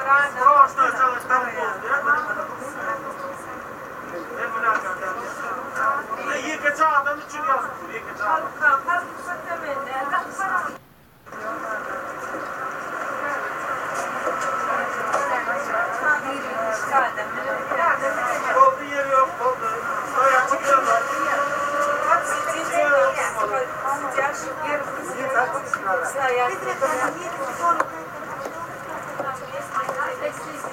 Прошлое целое столбом. Yıkacağım için yazdım. Yıkacağım. Oldu yeri yok, oldu. Стоят çıkıyorlar. Стоят.